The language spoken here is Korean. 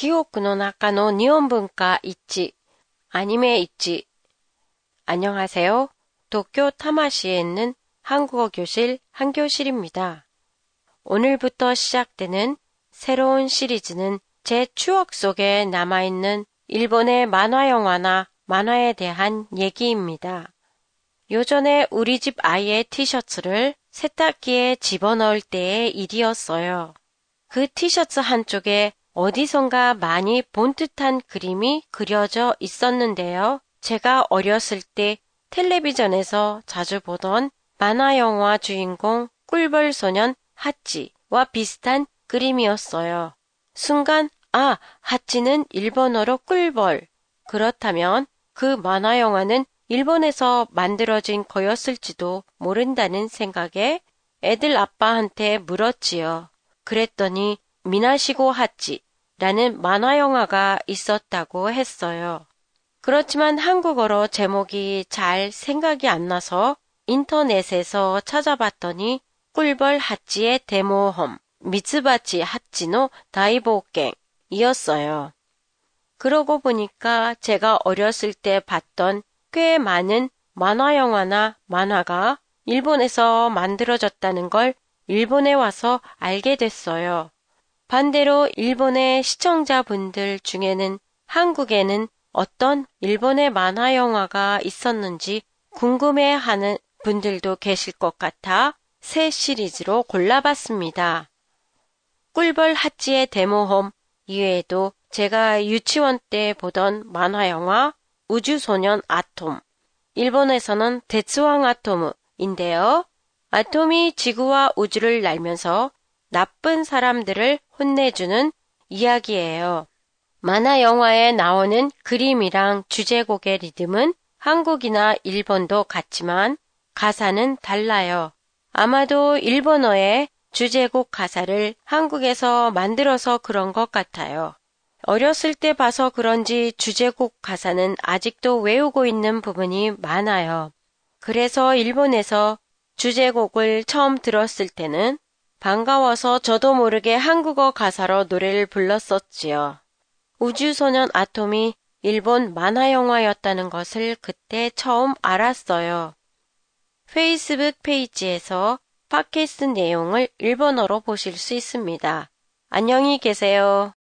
記憶の中の日本文化있지, 아니메 있지. 안녕하세요. 도쿄 타마시에 있는 한국어 교실 한교실입니다. 오늘부터 시작되는 새로운 시리즈는 제 추억 속에 남아있는 일본의 만화 영화나 만화에 대한 얘기입니다. 요전에 우리 집 아이의 티셔츠를 세탁기에 집어넣을 때의 일이었어요. 그 티셔츠 한쪽에 어디선가 많이 본 듯한 그림이 그려져 있었는데요. 제가 어렸을 때 텔레비전에서 자주 보던 만화 영화 주인공 꿀벌 소년 하찌와 비슷한 그림이었어요. 순간 하찌는 일본어로 꿀벌. 그렇다면 그 만화 영화는 일본에서 만들어진 거였을지도 모른다는 생각에 애들 아빠한테 물었지요. 그랬더니 미나시고 하찌라는 만화 영화가 있었다고 했어요. 그렇지만 한국어로 제목이 잘 생각이 안 나서 인터넷에서 찾아봤더니 꿀벌 하찌의 데모험, 미츠바치 하찌노 다이보갱이었어요. 그러고 보니까 제가 어렸을 때 봤던 꽤 많은 만화 영화나 만화가 일본에서 만들어졌다는 걸 일본에 와서 알게 됐어요. 반대로 일본의 시청자분들 중에는 한국에는 어떤 일본의 만화 영화가 있었는지 궁금해하는 분들도 계실 것 같아 새 시리즈로 골라봤습니다. 꿀벌 하찌의 데모홈 이외에도 제가 유치원 때 보던 만화 영화 우주소년 아톰, 일본에서는 데츠왕 아톰인데요. 아톰이 지구와 우주를 날면서 나쁜 사람들을 혼내주는 이야기예요. 만화 영화에 나오는 그림이랑 주제곡의 리듬은 한국이나 일본도 같지만 가사는 달라요. 아마도 일본어의 주제곡 가사를 한국에서 만들어서 그런 것 같아요. 어렸을 때 봐서 그런지 주제곡 가사는 아직도 외우고 있는 부분이 많아요. 그래서 일본에서 주제곡을 처음 들었을 때는 반가워서 저도 모르게 한국어 가사로 노래를 불렀었지요. 우주소년 아톰이 일본 만화 영화였다는 것을 그때 처음 알았어요. 페이스북 페이지에서 팟캐스트 내용을 일본어로 보실 수 있습니다. 안녕히 계세요.